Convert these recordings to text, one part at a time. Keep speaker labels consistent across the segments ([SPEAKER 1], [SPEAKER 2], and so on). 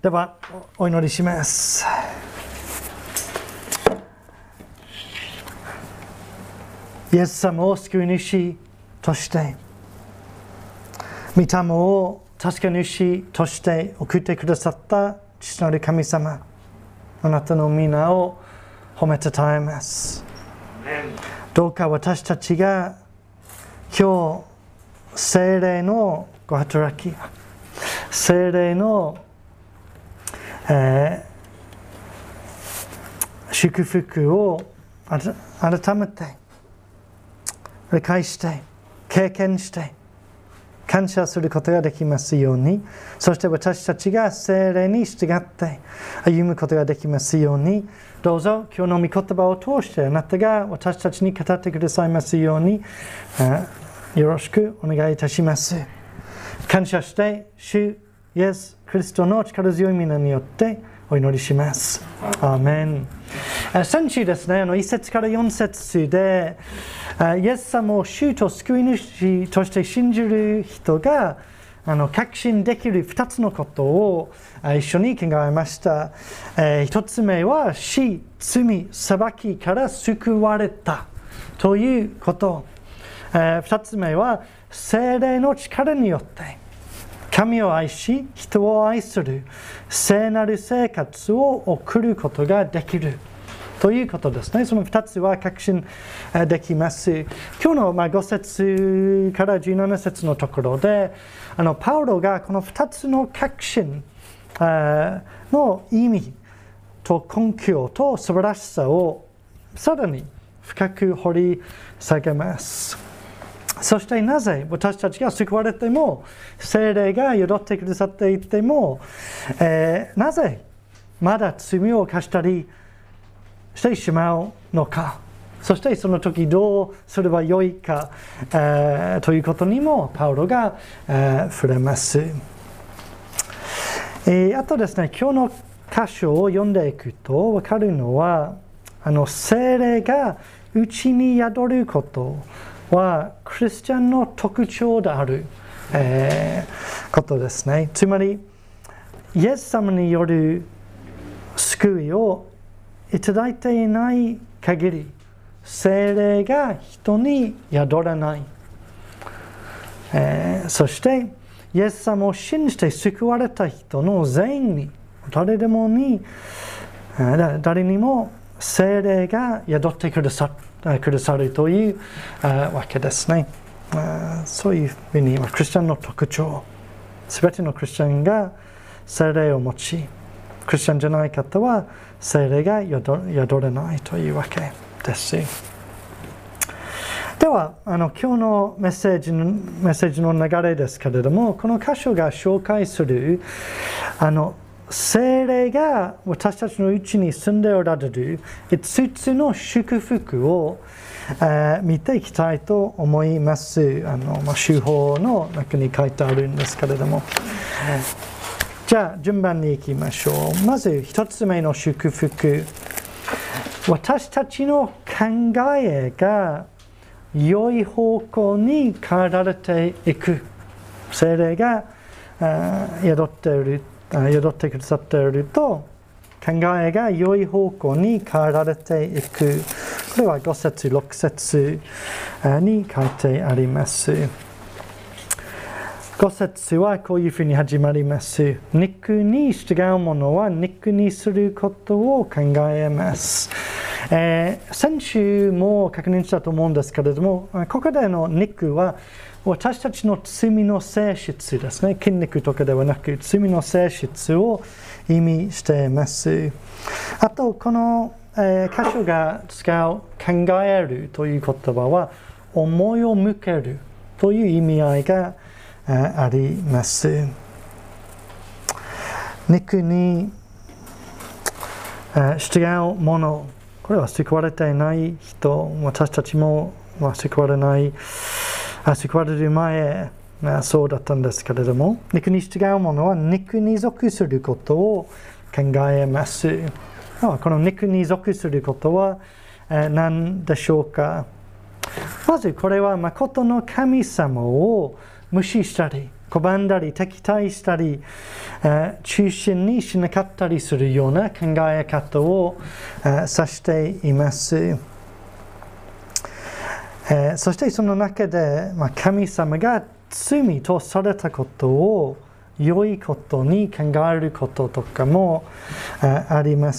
[SPEAKER 1] ではお祈りします。イエス様を救い主として、御霊を助け主として送ってくださった父なる神様、あなたの皆を褒めたたえます。どうか私たちが今日聖霊のご働き、聖霊の祝福を改めて理解して経験して感謝することができますように、そして私たちが聖霊に従って歩むことができますように、どうぞ今日の御言葉を通してあなたが私たちに語ってくださいますようによろしくお願いいたします。感謝して主イエス・キリストの力強い皆によってお祈りします。アーメン。先週ですね、1節から4節でイエス様を主と救い主として信じる人が確信できる2つのことを一緒に考えました。1つ目は死、罪、裁きから救われたということ。2つ目は聖霊の力によって神を愛し人を愛する聖なる生活を送ることができるということですね。その2つは確信できます。今日の5節から17節のところでパウロがこの2つの確信の意味と根拠と素晴らしさをさらに深く掘り下げます。そしてなぜ私たちが救われても聖霊が宿ってくださっていても、なぜまだ罪を犯したりしてしまうのか、そしてその時どうすればよいか、ということにもパウロが、触れます。あとですね、今日の箇所を読んでいくと分かるのは聖霊がうちに宿ることはクリスチャンの特徴である、ことですね。つまりイエス様による救いをいただいていない限り聖霊が人に宿らない、そしてイエス様を信じて救われた人の全員に誰にも聖霊が宿ってくださるというわけですね。そういうふうにクリスチャンの特徴、すべてのクリスチャンが聖霊を持ち、クリスチャンじゃない方は聖霊が宿れないというわけです。では今日のメッセージの流れですけれども、この箇所が紹介する聖霊が私たちのうちに住んでおられる5つの祝福を見ていきたいと思います。手法の中に書いてあるんですけれども、じゃあ順番に行きましょう。まず1つ目の祝福、私たちの考えが良い方向に変えられていく。聖霊が宿ってくださっていると考えが良い方向に変えられていく。これは5節6節に書いてあります。5節はこういうふうに始まります。肉に従う者は肉にすることを考えます。先週も確認したと思うんですけれども、ここでの肉は私たちの罪の性質ですね。筋肉とかではなく罪の性質を意味しています。あとこの箇所が使う考えるという言葉は思いを向けるという意味合いがあります。肉に従う者、これは救われていない人、私たちも救われる前そうだったんですけれども、肉に従う者は肉に属することを考えます。この肉に属することは何でしょうか。まずこれは誠の神様を無視したり拒んだり敵対したり、中心にしなかったりするような考え方を、指しています。そしてその中で、神様が罪とされたことを良いことに考えることとかもあります。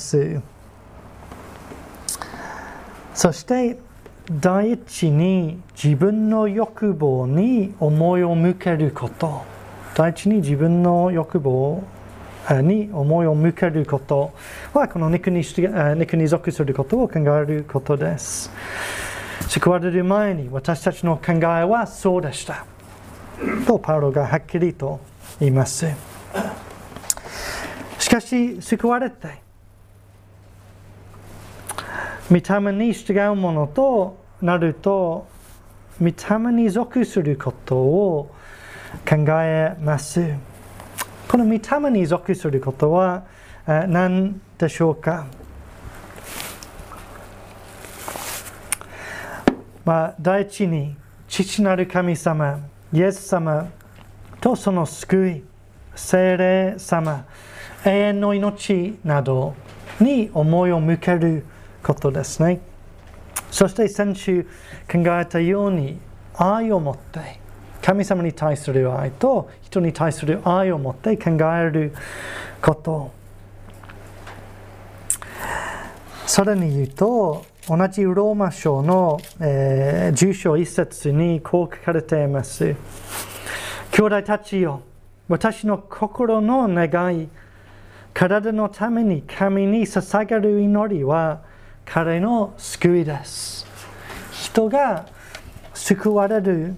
[SPEAKER 1] そして第一に自分の欲望に思いを向けること。第一に自分の欲望に思いを向けることはこの肉に属することを考えることです。救われる前に私たちの考えはそうでしたとパウロがはっきりと言います。しかし救われて御霊に従うものとなると御霊に属することを考えます。この御霊に属することは何でしょうか。第一に父なる神様イエス様とその救い聖霊様永遠の命などに思いを向けることですね。そして先週考えたように愛を持って神様に対する愛と人に対する愛を持って考えること。さらに言うと同じローマ書の、10章1節にこう書かれています。兄弟たちよ、私の心の願い、体のために神に捧げる祈りは彼の救いです。人が救われる、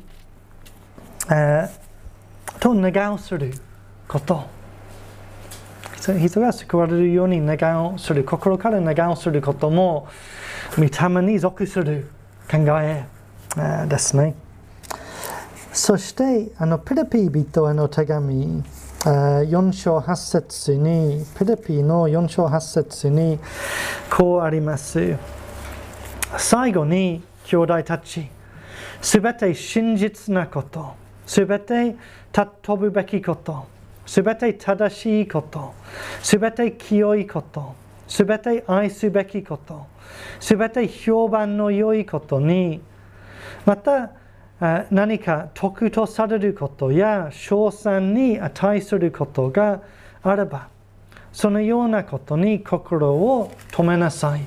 [SPEAKER 1] と願うすること。人が救われるように願うする、心から願うすることも御霊に属する考えですね。そしてピリピ人への手紙4章8節にピリピの4章8節にこうあります。最後に兄弟たち、すべて真実なこと、すべて尊ぶべきこと、すべて正しいこと、すべて清いこと、すべて愛すべきこと、すべて評判の良いことに、また何か得とされることや称賛に値することがあれば、そのようなことに心を止めなさい。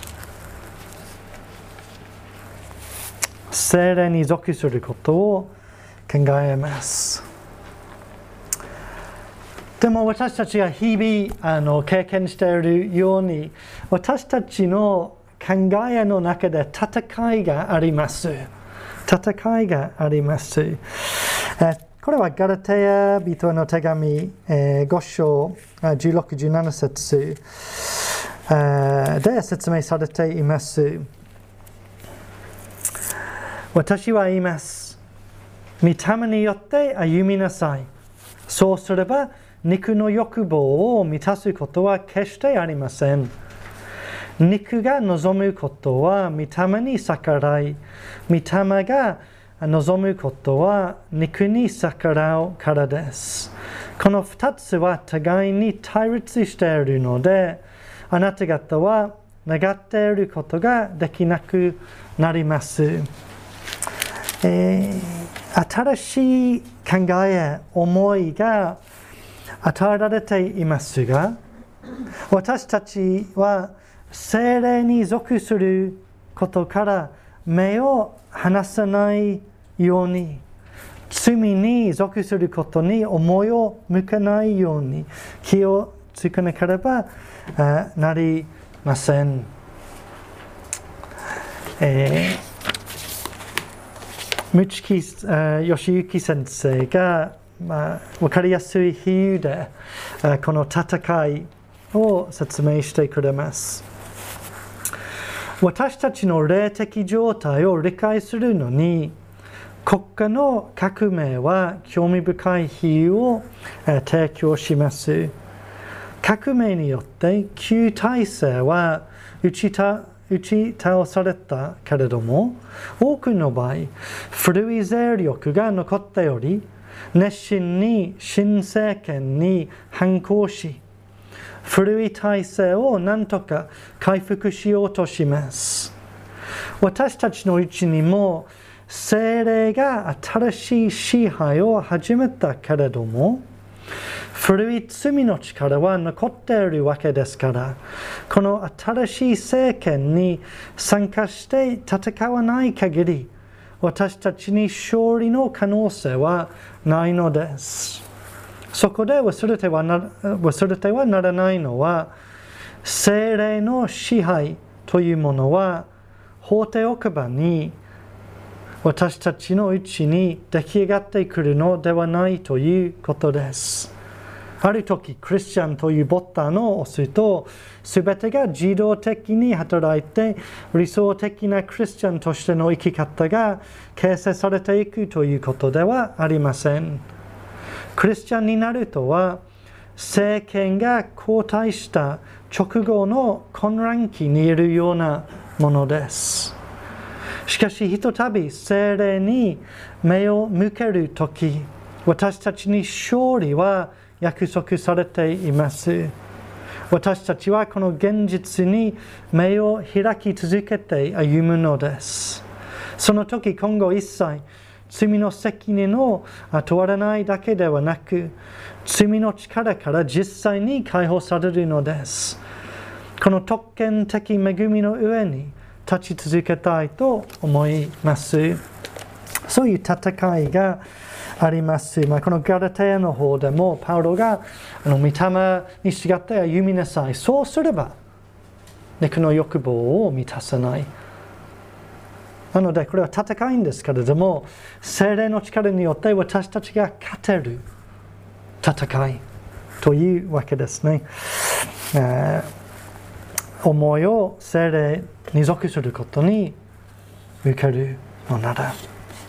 [SPEAKER 1] 聖霊に属することを考えます。でも私たちが日々経験しているように、私たちの考えの中で戦いがあります。戦いがあります。これはガラテヤ人への手紙5章16、17節で説明されています。私は言います。御霊によって歩みなさい。そうすれば肉の欲望を満たすことは決してありません。肉が望むことは御霊に逆らい、御霊が望むことは肉に逆らうからです。この2つは互いに対立しているので、あなた方は願っていることができなくなります。新しい考え、思いが与えられていますが、私たちは聖霊に属することから目を離さないように、罪に属することに思いを向けないように気をつけなければなりません。ムチキ義行先生が、分かりやすい比喩でこの戦いを説明してくれます。私たちの霊的状態を理解するのに、国家の革命は興味深い比喩を提供します。革命によって旧体制は打ち倒されたけれども、多くの場合、古い勢力が残っており、 熱心に新政権に反抗し、古い体制を何とか回復しようとします。私たちのうちにも聖霊が新しい支配を始めたけれども、古い罪の力は残っているわけですから、この新しい政権に参加して戦わない限り、私たちに勝利の可能性はないのです。そこで忘れてはならないのは、聖霊の支配というものは法廷奥歯に私たちのうちに出来上がってくるのではないということです。ある時、クリスチャンというボタンを押すと、すべてが自動的に働いて、理想的なクリスチャンとしての生き方が形成されていくということではありません。クリスチャンになるとは、政権が交代した直後の混乱期にいるようなものです。しかし、ひとたび聖霊に目を向けるとき、私たちに勝利は約束されています。私たちはこの現実に目を開き続けて歩むのです。その時、今後一切罪の責任を問われないだけではなく、罪の力から実際に解放されるのです。この特権的恵みの上に立ち続けたいと思います。そういう戦いがあります。このガラテヤの方でもパウロが御霊に従って歩みなさい。そうすれば肉の欲望を満たさない。なのでこれは戦いんですけれども、聖霊の力によって私たちが勝てる戦いというわけですね。思いを聖霊に属することに受けるのなら。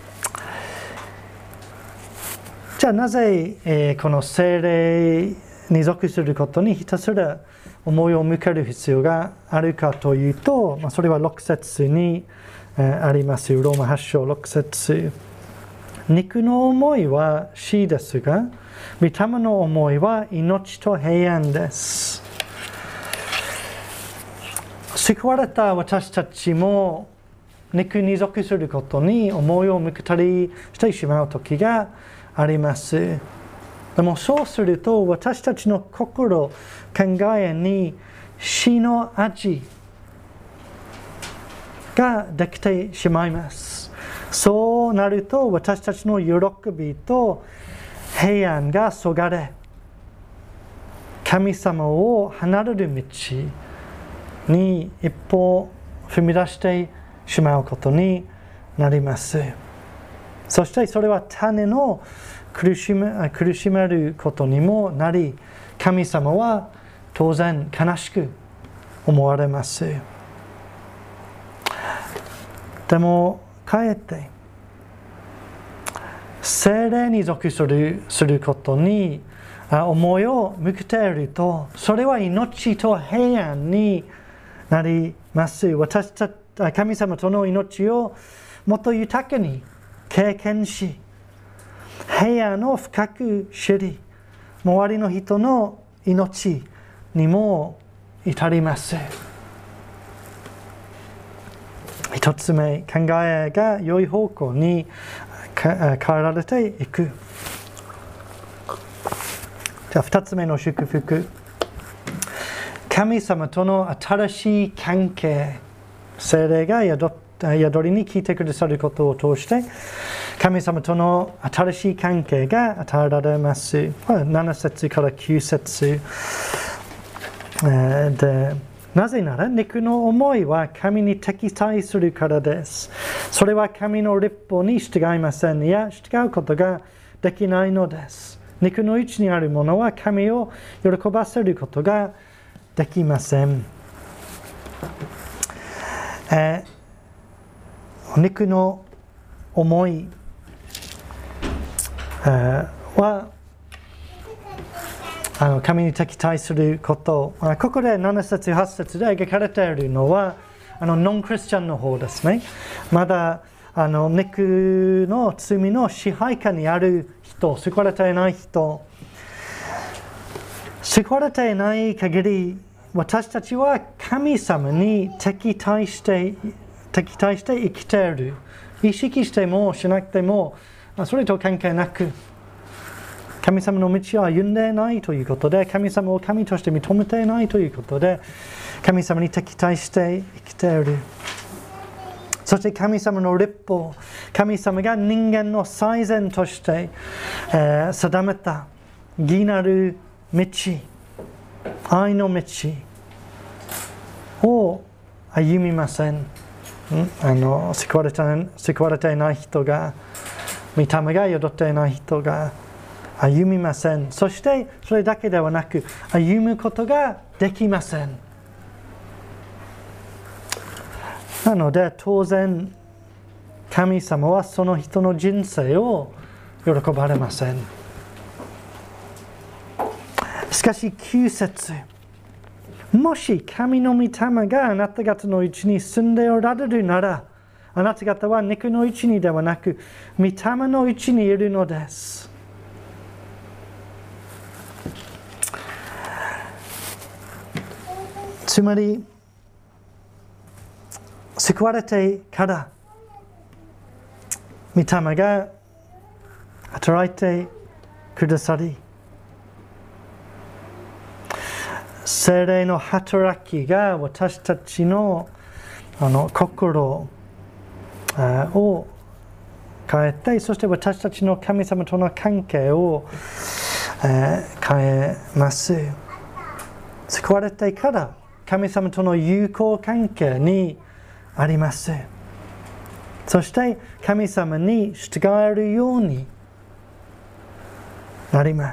[SPEAKER 1] じゃあなぜ、この聖霊に属することにひたすら思いを向ける必要があるかというと、それは6節にあります。ローマ8章6節。肉の思いは死ですが、御霊の思いは命と平安です。救われた私たちも肉に属することに思いを向けたりしてしまう時があります。でもそうすると私たちの心、考えに死の味ができてしまいます。そうなると私たちの喜びと平安がそがれ、神様を離れる道に一歩踏み出してしまうことになります。そしてそれは種の苦しめることにもなり、神様は当然悲しく思われます。でもかえって聖霊に属することに思いを向けていると、それは命と平安になります。神様との命をもっと豊かに経験し、平安を深く知り、周りの人の命にも至ります。一つ目、考えが良い方向に変えられていく。じゃあ二つ目の祝福。神様との新しい関係、聖霊が宿りに聞いてくださることを通して、神様との新しい関係が与えられます。7節から9節で、なぜなら肉の思いは神に敵対するからです。それは神の律法に従いません。いや、従うことができないのです。肉の内にあるものは神を喜ばせることができません。肉の思いは神に敵対すること。ここで7節8節で描かれているのはノンクリスチャンの方ですね。まだ肉の罪の支配下にある人人、救われていない人、救われていない限り、私たちは神様に敵対して生きている。意識してもしなくても、それと関係なく、神様の道を歩んでいないということで、神様を神として認めていないということで、神様に敵対して生きている。そして神様の律法、神様が人間の最善として、定めた義なる道、愛の道を歩みません。救われていない人が、御霊が宿っていない人が歩みません。そしてそれだけではなく、歩むことができません。なので当然、神様はその人の人生を喜ばれません。しかし9節、もし神の御霊があなた方のうちに住んでおられるなら、あなた方は肉のうちにではなく、御霊のうちにいるのです。つまり、救われてから、御霊が働いてくださり、聖霊の働きが私たちの心を変えて、そして私たちの神様との関係を変えます。救われてから神様との友好関係にあります。そして神様に従えるようになります。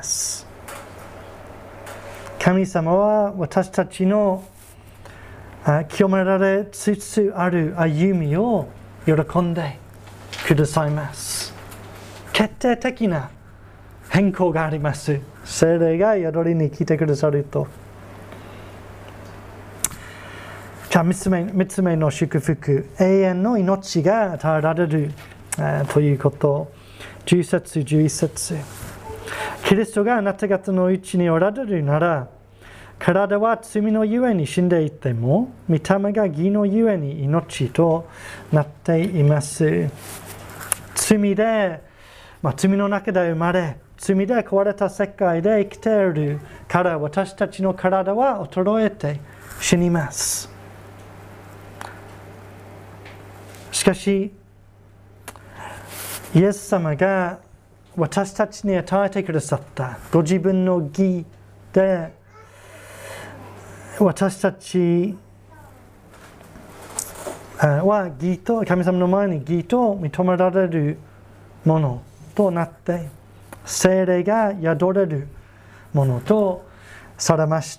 [SPEAKER 1] 神様は私たちの清められつつある歩みを喜んでくださいます。決定的な変更があります。聖霊が宿りに来てくださると。じゃあ3つ目の祝福、永遠の命が与えられるということ。10節11節、キリストがあなた方のうちにおられるなら、体は罪のゆえに死んでいても、御霊が義のゆえに命となっています。罪で、罪の中で生まれ、罪で壊れた世界で生きているから、私たちの体は衰えて死にます。しかし、イエス様が私たちに与えてくださったご自分の義で、私たちは義と、神様の前に義と認められるものとなって、聖霊が宿れるものとされました。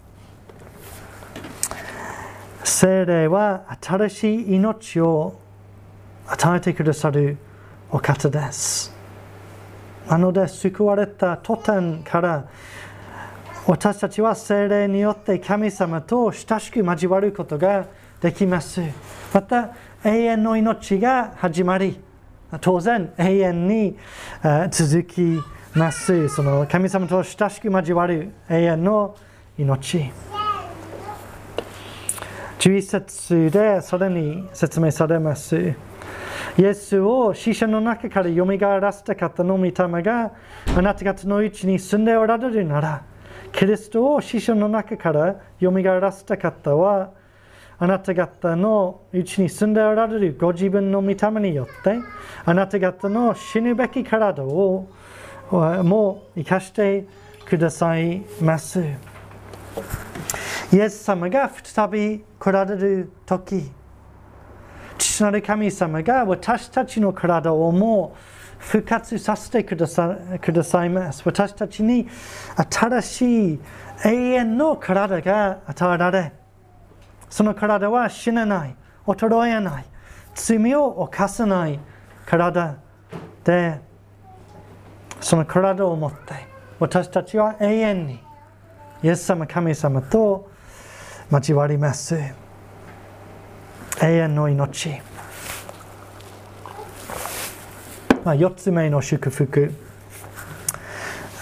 [SPEAKER 1] 聖霊は新しい命を与えてくださるお方です。なので、救われた途端から、私たちは聖霊によって神様と親しく交わることができます。また、永遠の命が始まり、当然永遠に続きます。その神様と親しく交わる永遠の命。11節でそれに説明されます。イエスを死者の中からよみがえらせた方の御霊があなた方のうちに住んでおられるなら、キリストを死者の中からよみがえらせた方は、あなた方のうちに住んでおられるご自分の御霊によって、あなた方の死ぬべき体をも生かしてくださいます。イエス様が再び来られるとき、父なる神様が私たちの体をも復活させてくださいます。私たちに新しい永遠の体が与えられ、その体は死なない、衰えない、罪を犯さない体で、その体を持って私たちは永遠にイエス様神様と交わります。永遠の命。4つ目の祝福。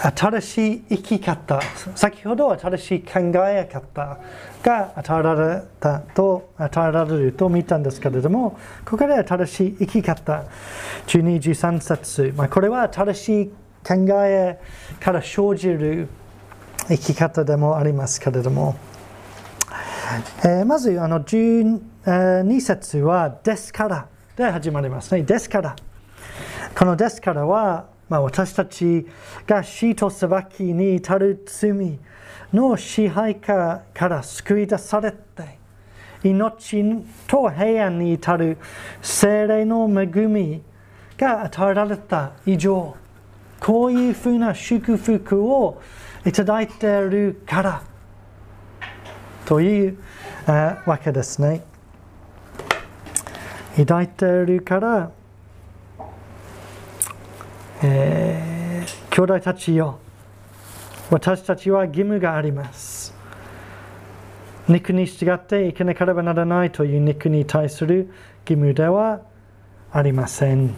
[SPEAKER 1] 新しい生き方、先ほど新しい考え方が与えられると見たんですけれども、ここで新しい生き方、12、13節、これは新しい考えから生じる生き方でもありますけれども、まず12節はですからで始まりますね。ですから。このですからは、私たちが死と裁きに至る罪の支配下から救い出されて、命と平安に至る聖霊の恵みが与えられた以上、こういうふうな祝福をいただいているからというわけですね。いただいているから、兄弟たちよ、私たちは義務があります。肉に従って生きなければならないという肉に対する義務ではありません。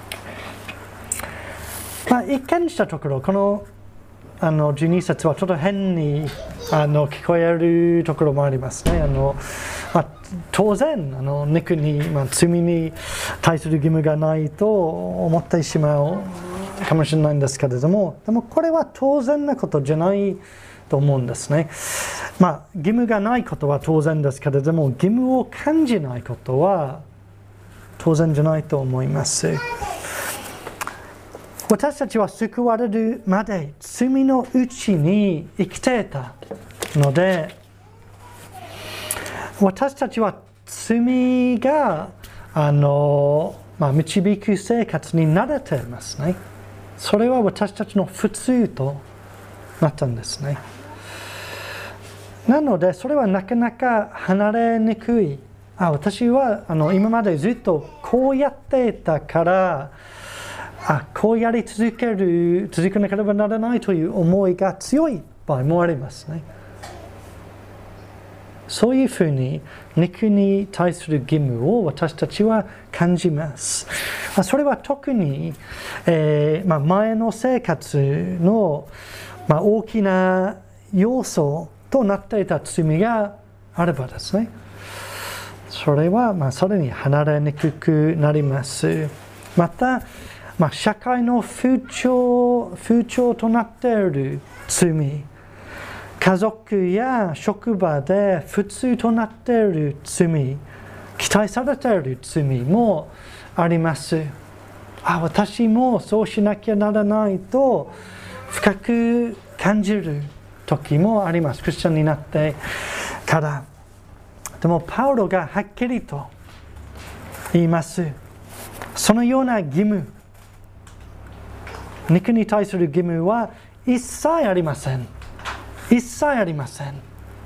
[SPEAKER 1] 一見したところ、この12節はちょっと変に聞こえるところもありますね。当然肉に、罪に対する義務がないと思ってしまうかもしれないんですけれども、でもこれは当然なことじゃないと思うんですね。義務がないことは当然ですけれども、義務を感じないことは当然じゃないと思います。私たちは救われるまで罪のうちに生きていたので、私たちは罪が導く生活に慣れていますね。それは私たちの普通となったんですね。なのでそれはなかなか離れにくい。私は今までずっとこうやっていたからこうやり続けなければならないという思いが強い場合もありますね。そういうふうに肉に対する義務を私たちは感じます。それは特に、前の生活の、大きな要素となっていた罪があればですね。それはそれに離れにくくなります。また、社会の風潮となっている罪、家族や職場で普通となっている罪、期待されている罪もあります。私もそうしなきゃならないと深く感じる時もあります。クリスチャンになってから。でもパウロがはっきりと言います。そのような義務、肉に対する義務は一切ありません。一切ありません。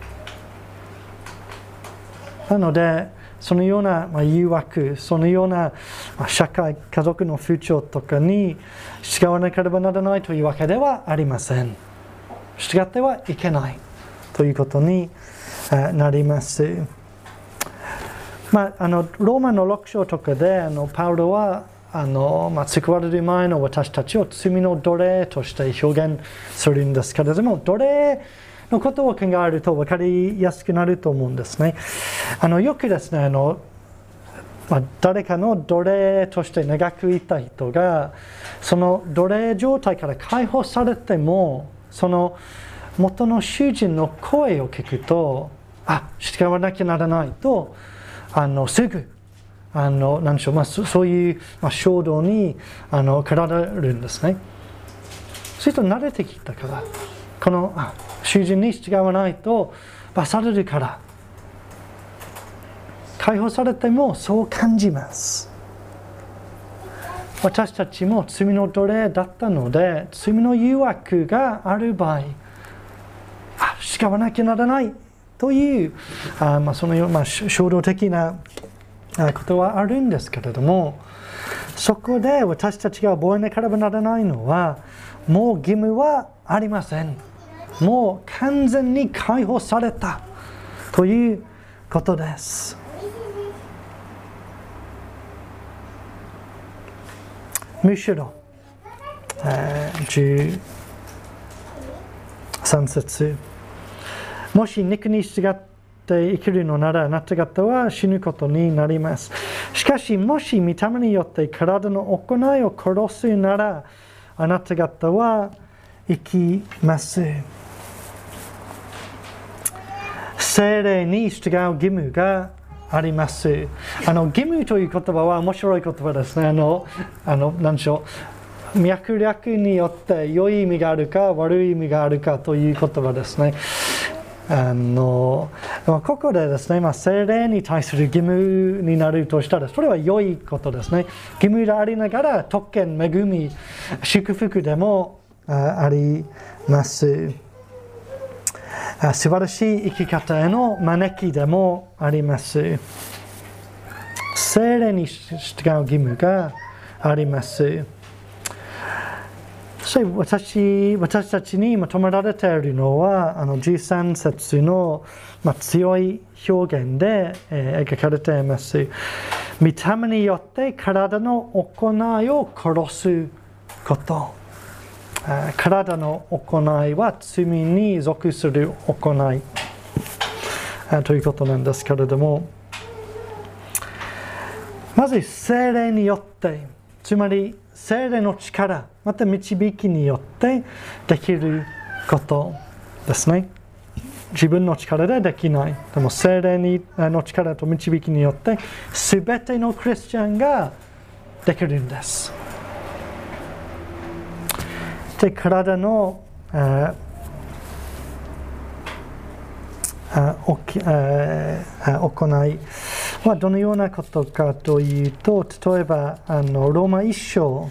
[SPEAKER 1] なので、そのような誘惑、そのような社会、家族の風潮とかに従わなければならないというわけではありません。従ってはいけないということになります。ローマの6章とかでパウロは救われる前の私たちを罪の奴隷として表現するんですけれども、奴隷のことを考えると分かりやすくなると思うんですね。よくですね、誰かの奴隷として長くいた人が、その奴隷状態から解放されても、その元の主人の声を聞くと、従わなきゃならないと、すぐ何でしょう、そういう衝動に駆られるんですね。それと慣れてきたから、この主人に従わないと罰されるから、解放されてもそう感じます。私たちも罪の奴隷だったので、罪の誘惑がある場合、従わなきゃならないというそのような衝動的なことはあるんですけれども、そこで私たちが覚えなければならないのは、もう義務はありません。もう完全に解放されたということです。むしろ、13 3節。もし肉に従って生きるのなら、あなた方は死ぬことになります。しかし、もし御霊によって体の行いを殺すなら、あなた方は生きます。聖霊に従う義務があります。義務という言葉は面白い言葉ですね。何でしょう。脈略によって良い意味があるか悪い意味があるかという言葉ですね。ここでですね、聖霊に対する義務になるとしたら、それは良いことですね。義務でありながら特権、恵み、祝福でもあります。素晴らしい生き方への招きでもあります。聖霊に従う義務があります。そして私たちに求められているのは13節の、強い表現で、描かれています。御霊によって体の行いを殺すこと。体の行いは罪に属する行いということなんですけれども、まず聖霊によって、つまり聖霊の力、また導きによってできることですね。自分の力でできない。でも聖霊の力と導きによって全てのクリスチャンができるんです。で、体の行いはどのようなことかというと、例えばローマ1章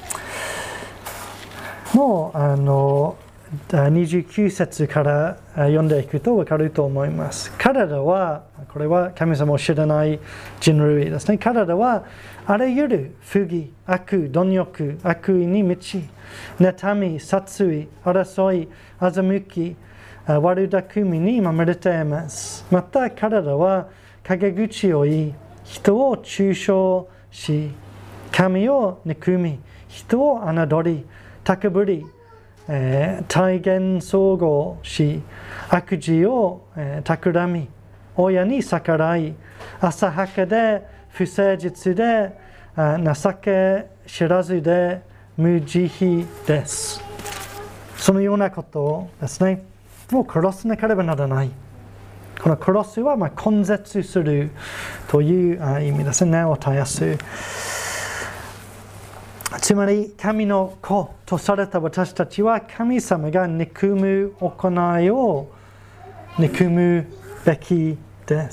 [SPEAKER 1] の29節から読んでいくと分かると思います。彼らは、これは神様を知らない人類ですね。彼らはあらゆる不義、悪、貪欲、悪意に満ち、妬み、殺意、争い、欺き、悪巧みにまみれています。また彼らは陰口を言い、人を中傷し、神を憎み、人を侮り、高ぶり、体言総合し、悪事を企み、親に逆らい、浅はかで不誠実で情け知らずで無慈悲です。そのようなことですね。もう殺さなければならない。この殺すは根絶するという意味ですね。根を絶やす。つまり神の子とされた私たちは神様が憎む行いを憎むべきです。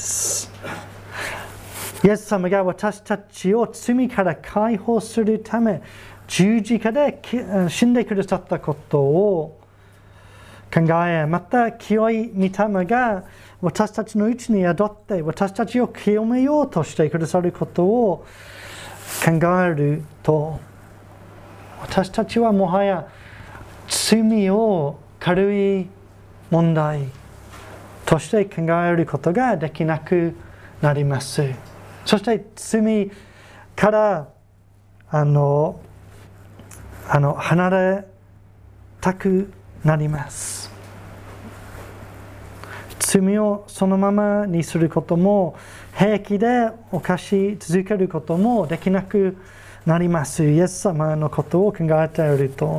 [SPEAKER 1] イエス様が私たちを罪から解放するため十字架で死んでくださったことを考え、また清い御霊が私たちのうちに宿って私たちを清めようとしてくださることを考えると、私たちはもはや罪を軽い問題として考えることができなくなります。そして罪から離れたくなります。罪をそのままにすることも、平気で犯し続けることもできなくなります。イエス様のことを考えていると、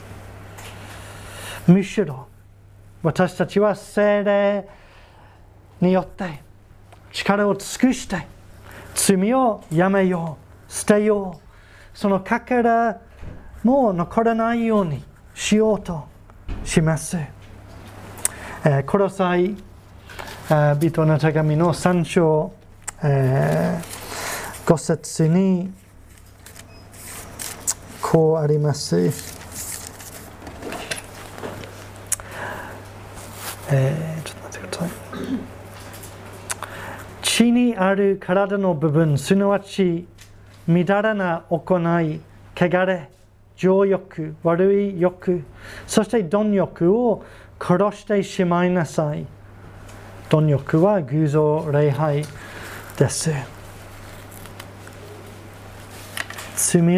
[SPEAKER 1] むしろ私たちは聖霊によって力を尽くして罪をやめよう、捨てよう、そのかからもう残らないようにしようとします。コロサイ人の手紙の3章5節にこうあります。ちょっと待ってください。地にある体の部分、すなわちみだらな行い、汚れ、情欲、悪い欲、そして貪欲を殺してしまいなさい。貪欲は偶像礼拝です。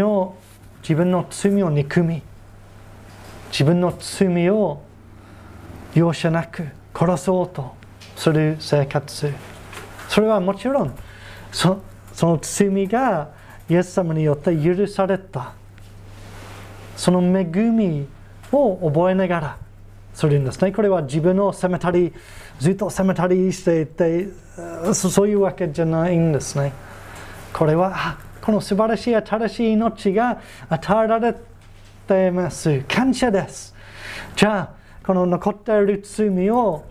[SPEAKER 1] 自分の罪を憎み、自分の罪を容赦なく殺そうとする生活。それはもちろんその罪がイエス様によって許された。その恵みを覚えながらするんですね。これは自分を責めたり、ずっと責めたりしていて、そういうわけじゃないんですね。これは、この素晴らしい新しい命が与えられています。感謝です。じゃあ、この残っている罪を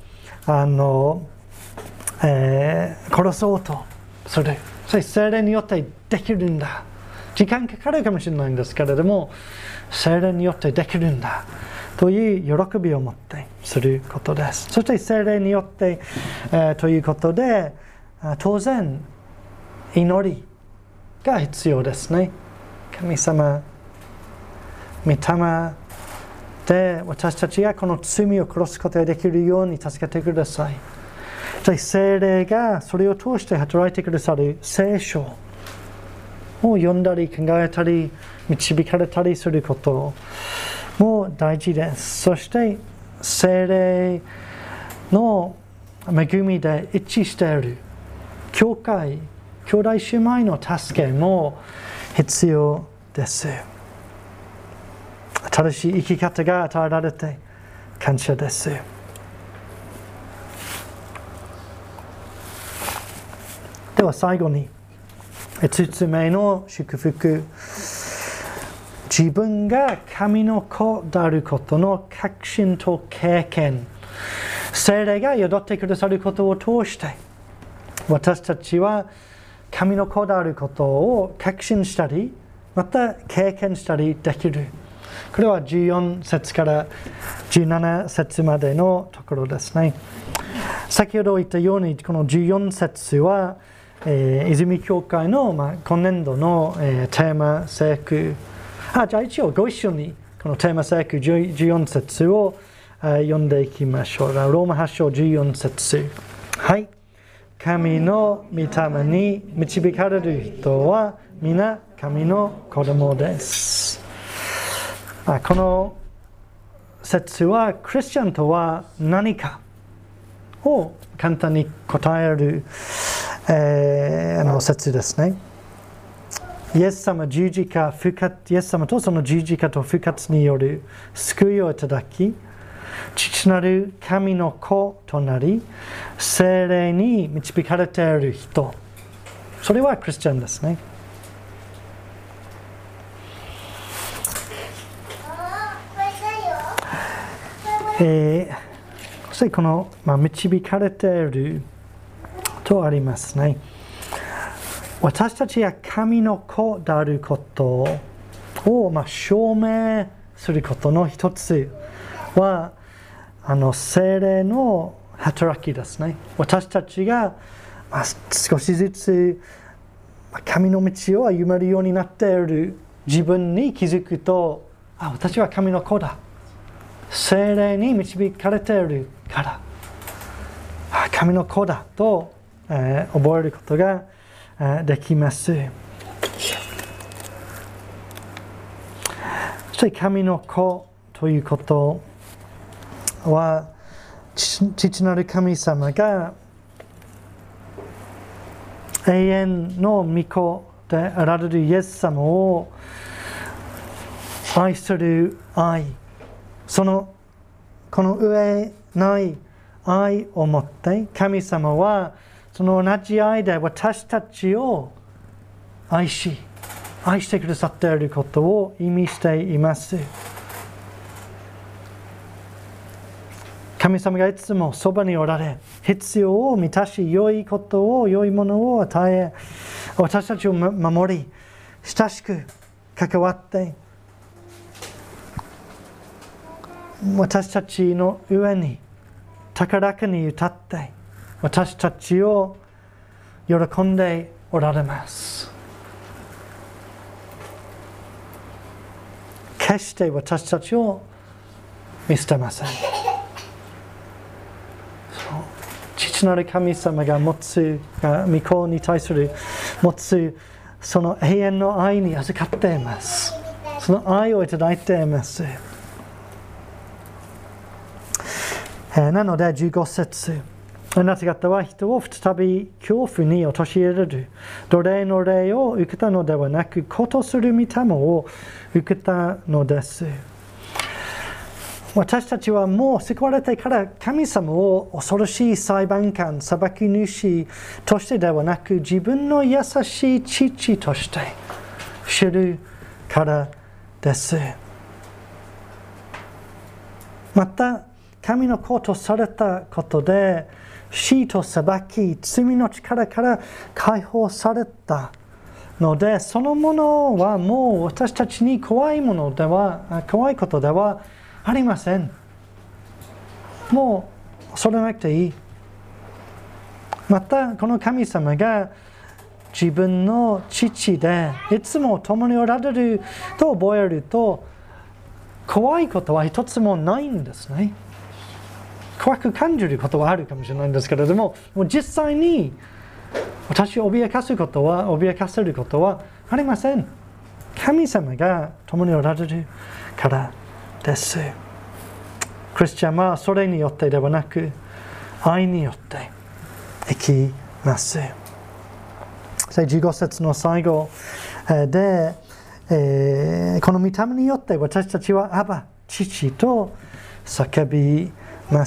[SPEAKER 1] 殺そうとする。それ聖霊によってできるんだ。時間かかるかもしれないんですけれども、聖霊によってできるんだという喜びを持ってすることです。そして聖霊によって、ということで、当然祈りが必要ですね。神様、御霊で私たちがこの罪を殺すことができるように助けてください。聖霊がそれを通して働いてくださる聖書を読んだり考えたり導かれたりすることも大事です。そして聖霊の恵みで一致している教会、兄弟姉妹の助けも必要です。新しい生き方が与えられて感謝です。では最後に5つ目の祝福。自分が神の子であることの確信と経験。聖霊が宿ってくださることを通して私たちは神の子であることを確信したりまた経験したりできる。これは14節から17節までのところですね。先ほど言ったようにこの14節は泉教会の、今年度の、テーマ聖句。じゃあ一応ご一緒にこのテーマ聖句14節を読んでいきましょう。ローマ8章14節。はい。神の御霊に導かれる人は皆神の子供です。この説はクリスチャンとは何かを簡単に答える説ですね。イエス様十字架復活、イエス様とその十字架と復活による救いをいただき、父なる神の子となり、聖霊に導かれている人、それはクリスチャンですね。そしてこの、導かれているとありますね。私たちが神の子であることを、証明することの一つは聖霊の働きですね。私たちが、少しずつ神の道を歩めるようになっている自分に気づくと、私は神の子だ。聖霊に導かれているから神の子だと、覚えることができます。そして神の子ということは父なる神様が永遠の御子であられるイエス様を愛する愛、この上ない愛を持って神様はその同じ愛で私たちを愛してくださっていることを意味しています。神様がいつもそばにおられ、必要を満たし、良いものを与え、私たちを守り、親しく関わって、私たちの上に高らかに歌って、私たちを喜んでおられます。決して私たちを見捨てません。父なる神様が持つ、御子に対する持つその永遠の愛に預かっています。その愛をいただいています。 なので15節。あなた方は人を再び恐怖に陥れる。奴隷の霊を受けたのではなく、子とする御霊を受けたのです。私たちはもう救われてから神様を恐ろしい裁判官、裁き主としてではなく、自分の優しい父として知るからです。また、神の子とされたことで、死と裁き、罪の力から解放されたので、そのものはもう私たちに怖いことではありません。もう恐れなくていい。また、この神様が自分の父でいつも共におられると覚えると、怖いことは一つもないんですね。怖く感じることはあるかもしれないんですけれども、もう実際に私を脅かせることはありません。神様が共におられるからです。クリスチャンはそれによってではなく、愛によって生きます。15節の最後で、この御霊によって私たちはアバ、父と叫びます。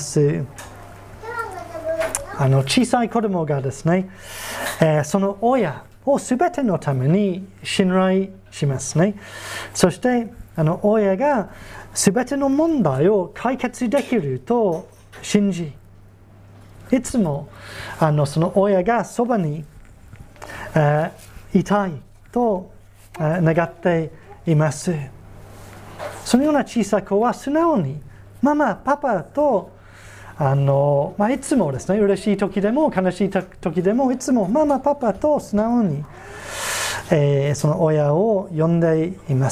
[SPEAKER 1] 小さい子供がですね、その親をすべてのために信頼しますね。そして親がすべての問題を解決できると信じ、いつもその親がそばにいたいと願っています。そのような小さい子は素直にママ、パパといつもですね、嬉しい時でも悲しい時でもいつもママ、パパと素直に、その親を呼んでいます。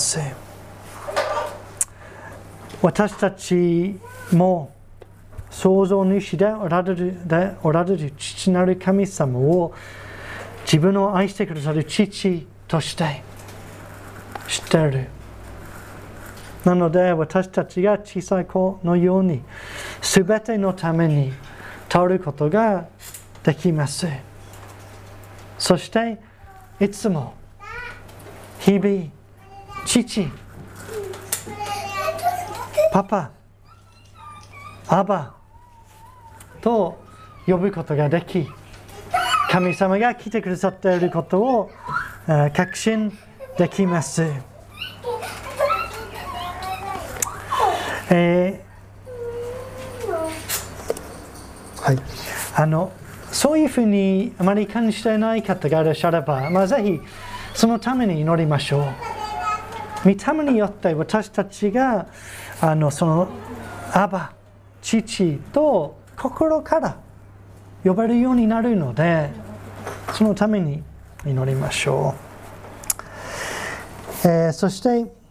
[SPEAKER 1] 私たちも創造主でおられる父なる神様を自分を愛してくださる父として知っている。なので私たちが小さい子のようにすべてのために頼ることができます。そしていつも日々父、パパ、アバと呼ぶことができ、神様が来てくださっていることを確信できます。そういうふうにあまり感じていない方がいらっしゃれば、ぜひそのために祈りましょう。御霊によって私たちがそのアバ、父と心から呼べるようになるので、そのために祈りましょう。そして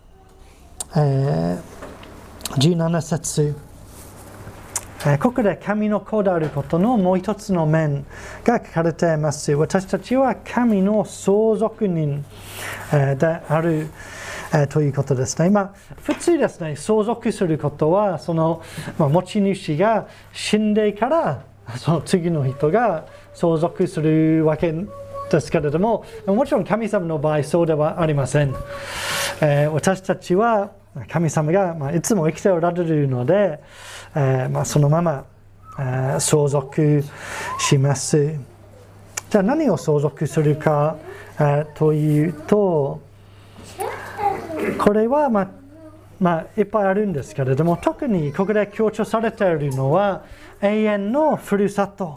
[SPEAKER 1] 、17節、ここで神の子であることのもう一つの面が書かれています。私たちは神の相続人であるということですね。普通ですね、相続することはその、持ち主が死んでからその次の人が相続するわけですけれども、もちろん神様の場合そうではありません。私たちは神様がいつも生きておられるので、そのまま相続します。じゃあ何を相続するかというと、これはいっぱいあるんですけれども、特にここで強調されているのは永遠のふるさと、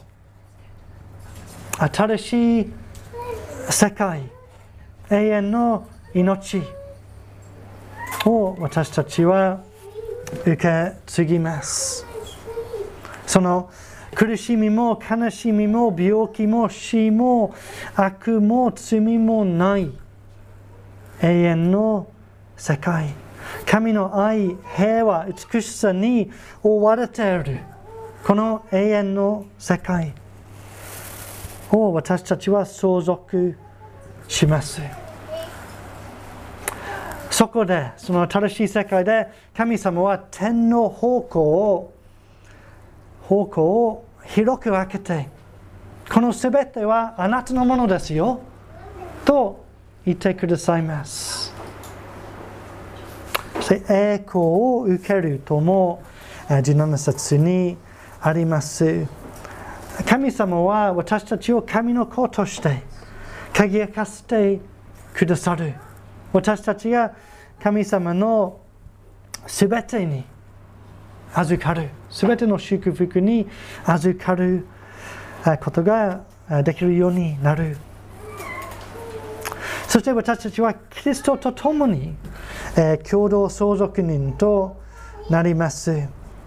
[SPEAKER 1] 新しい世界、永遠の命を私たちは受け継ぎます。その苦しみも悲しみも病気も死も悪も罪もない永遠の世界、神の愛、平和、美しさに覆われているこの永遠の世界を私たちは相続します。そこで、その新しい世界で神様は天の宝庫を方向を広く開けて、このすべてはあなたのものですよと言ってくださいます。そして栄光を受けるとも17節にあります。神様は私たちを神の子として輝かせてくださる。私たちが神様のすべてに預かる、すべての祝福に預かることができるようになる。そして私たちはキリストと共に共同相続人となります。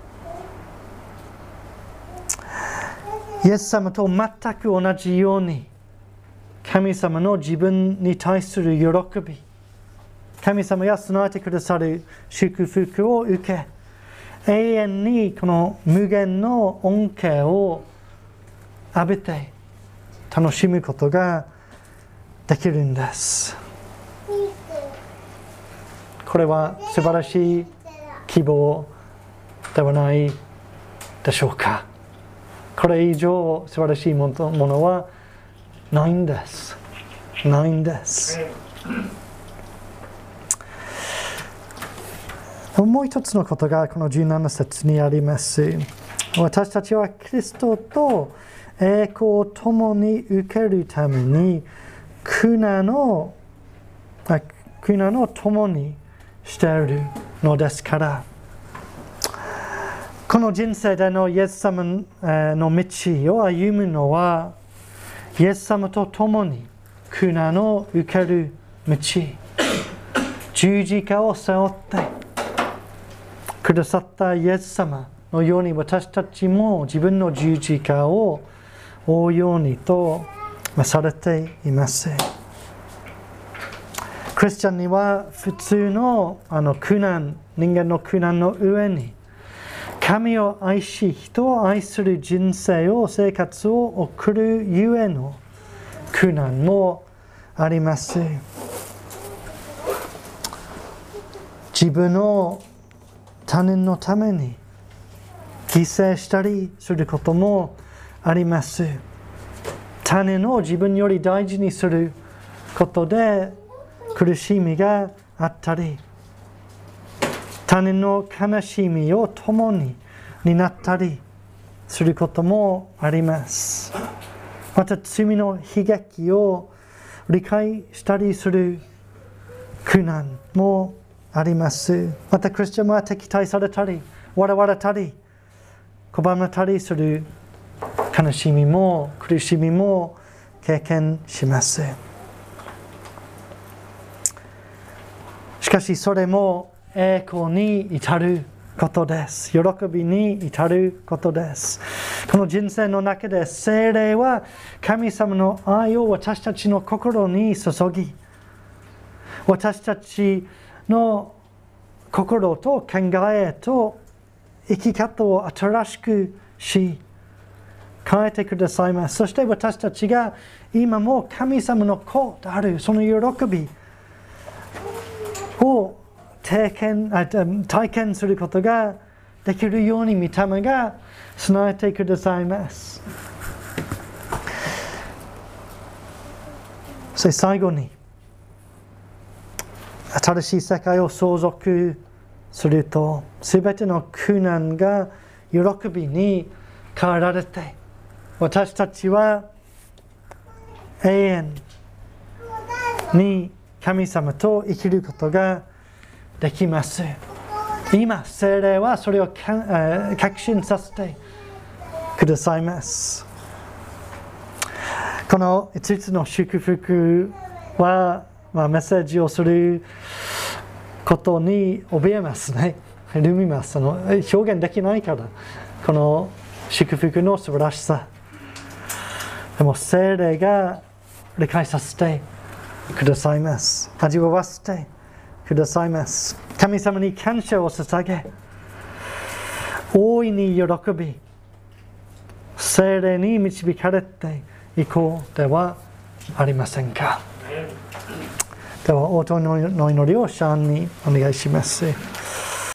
[SPEAKER 1] イエス様と全く同じように、神様の自分に対する喜び、神様が備えてくださる祝福を受け、永遠にこの無限の恩恵を浴びて楽しむことができるんです。これは素晴らしい希望ではないでしょうか。これ以上素晴らしいものはないんです。ないんです。もう一つのことがこの17節にあります。私たちはキリストと栄光を共に受けるために苦難を共にしているのですから、この人生でのイエス様の道を歩むのは、イエス様と共に苦難を受ける道、十字架を背負ってくださったイエス様のように、私たちも自分の十字架を追うようにとされています。クリスチャンには普通の苦難、人間の苦難の上に、神を愛し、人を愛する人生を、生活を送るゆえの苦難もあります。自分の他人のために犠牲したりすることもあります。他人を自分より大事にすることで苦しみがあったり、他人の悲しみを共に担ったりすることもあります。また罪の悲劇を理解したりする苦難もあります。またクリスチャンは敵対されたり、笑われたり、拒まれたりする悲しみも苦しみも経験します。しかしそれも栄光に至ることです。喜びに至ることです。この人生の中で聖霊は神様の愛を私たちの心に注ぎ、私たちの心と考えと生き方を新しくし、変えてくださいます。そして私たちが今も神様の子であるその喜びを体験することができるように御霊が備えてくださいます。そして最後に、新しい世界を相続すると、すべての苦難が喜びに変えられて、私たちは永遠に神様と生きることができます。今、聖霊はそれを確信させてくださいます。この5つの祝福は、メッセージをすることに怯えますね。ルミます。表現できないから、この祝福の素晴らしさ。でも聖霊が理解させてくださいます。味わわせてくださいます。神様に感謝を捧げ、大いに喜び、聖霊に導かれていこうではありませんか。では応答の祈りをシャンにお願いします。